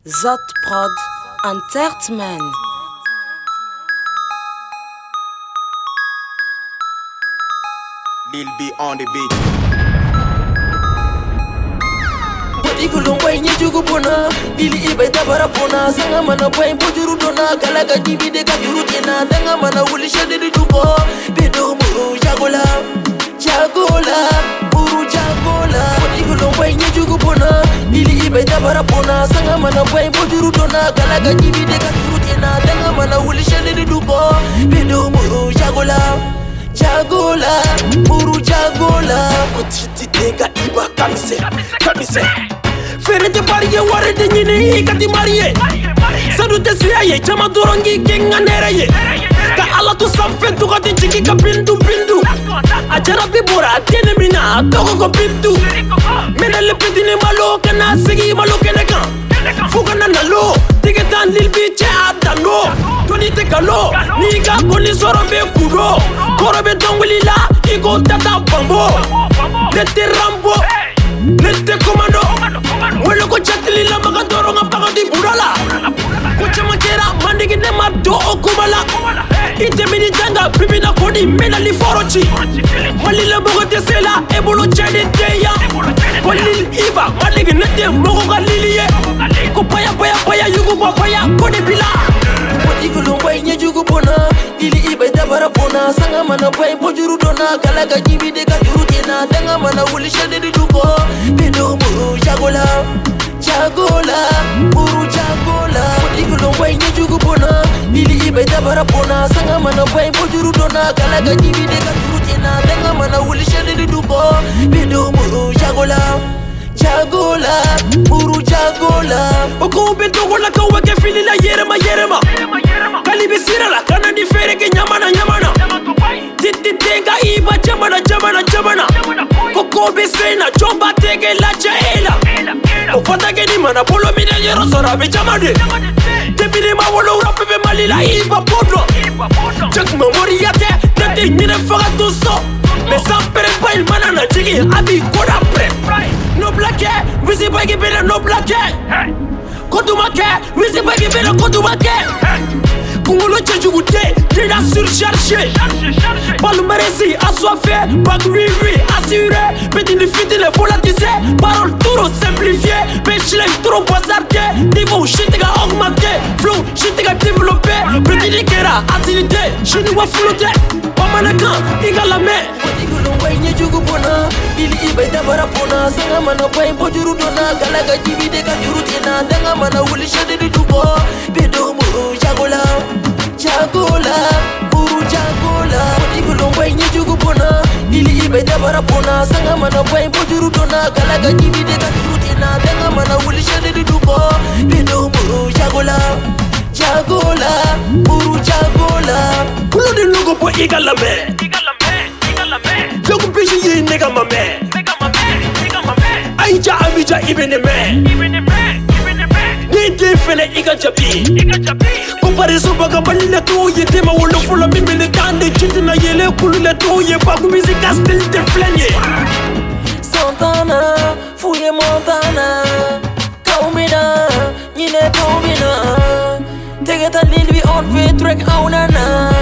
Zot Prod Entertainment. Lil B on the beat. Bodi kulum boy ni jugu bona, Lili ibe tabara bona, sanga mana boy bojuru dona, kalaga jibi de kajuru tina, danga mana wuli shade de duko, bedo muru jagola, muru jagola. Bodi kulum boy ni jugu bona, Lili ibe tabara bona, sanga mana boy bojuru dona, kalaga jibi de kajuru tina, danga mana wuli shade de duko, bedo muru jagola, muru jagola. Otiti tega iba kamise. Ferete pariye warede nyine ikati mariye. Sadu tesiye chama dorongi kenga nereye. Ka ala tu samfe tu kati chiki ka bindu. Ajara bibora tiene mina toko ko bindu. Mena le petine malo kana sigi malo keneka. Fuga na nalo tigetan lil biche adano. Toni te kalo ni ka koni sorobe kudo. Korobe dongwili la iko tata bambo. Nete rambo nete komando. Welo ko chatili la magadoro nga pagadi burala. Ko chama kera mandigi ne mado okumala. Ite mini janga bibi na kodi mena li forochi. Malila bogo tesela ebolo chede teya. Ko lil iba mandigi nete mogo galiliye. Ko paya yugo paya kodi bila. Bodi kulum boy nye jugu bona, Lili ibe tabara bona, sanga mana boy bojuru dona, kalaga jibi de kajuru tina, danga mana wuli shade de duko, bedo muru jagola, muru jagola. Bodi kulum boy nye jugu bona, Lili ibe tabara bona, sanga mana boy bojuru dona, kalaga jibi de kajuru tina, danga mana wuli shade de duko, bedo muru jagola, muru jagola. Oko beto wala ka wake fili la yerema. Kalibi sira la kana di fere ke nyamana. Titi tenga iba jamana. Koko besena chomba tege la chaela. Kofata ke ni mana polo mina yero sora be jamade. Tebile ma wolo ura pepe malila iba podro. Chak memori yate nete nyine faga tuso. Mais sans pas il manana jigi abi koda pre. No blague, wisi bagi bela no blague. Kodumake, wisi bagi bela kodumake. Kungolo chejugute, déjà surchargé. Palmarès assoiffé, bac oui, assuré. Petit de fiti le volatisé, parole trop simplifié. Bechlem trop bazardé, niveau shitega augmenté. Flow shitega développé, petit de kera acidité. Chinois flotté, pamanaka, igalame. Nye jugu bona, Lili ibe tabara bona, sanga mana boy bojuru dona, kalaga jibi de kajuru tina, danga mana wuli shade de duko, bedo muru jagola, muru jagola. Bodi boy nye jugu bona, Lili ibe tabara bona, sanga mana boy bojuru dona, kalaga jibi de kajuru tina, danga mana wuli shade de duko, bedo muru jagola, muru jagola. Kulo de logo po igalame. Look busy ye nigga my man. Aija amija ibene me. Ni defene iga jabi. Comparaison baga balile to ye tema wolo fola mi mele tande chitina yele kulule to ye pa ku music still te flenye. Santana, fouille Montana. Kaumina, yine kaumina. Tegeta lil we on fait track aunana.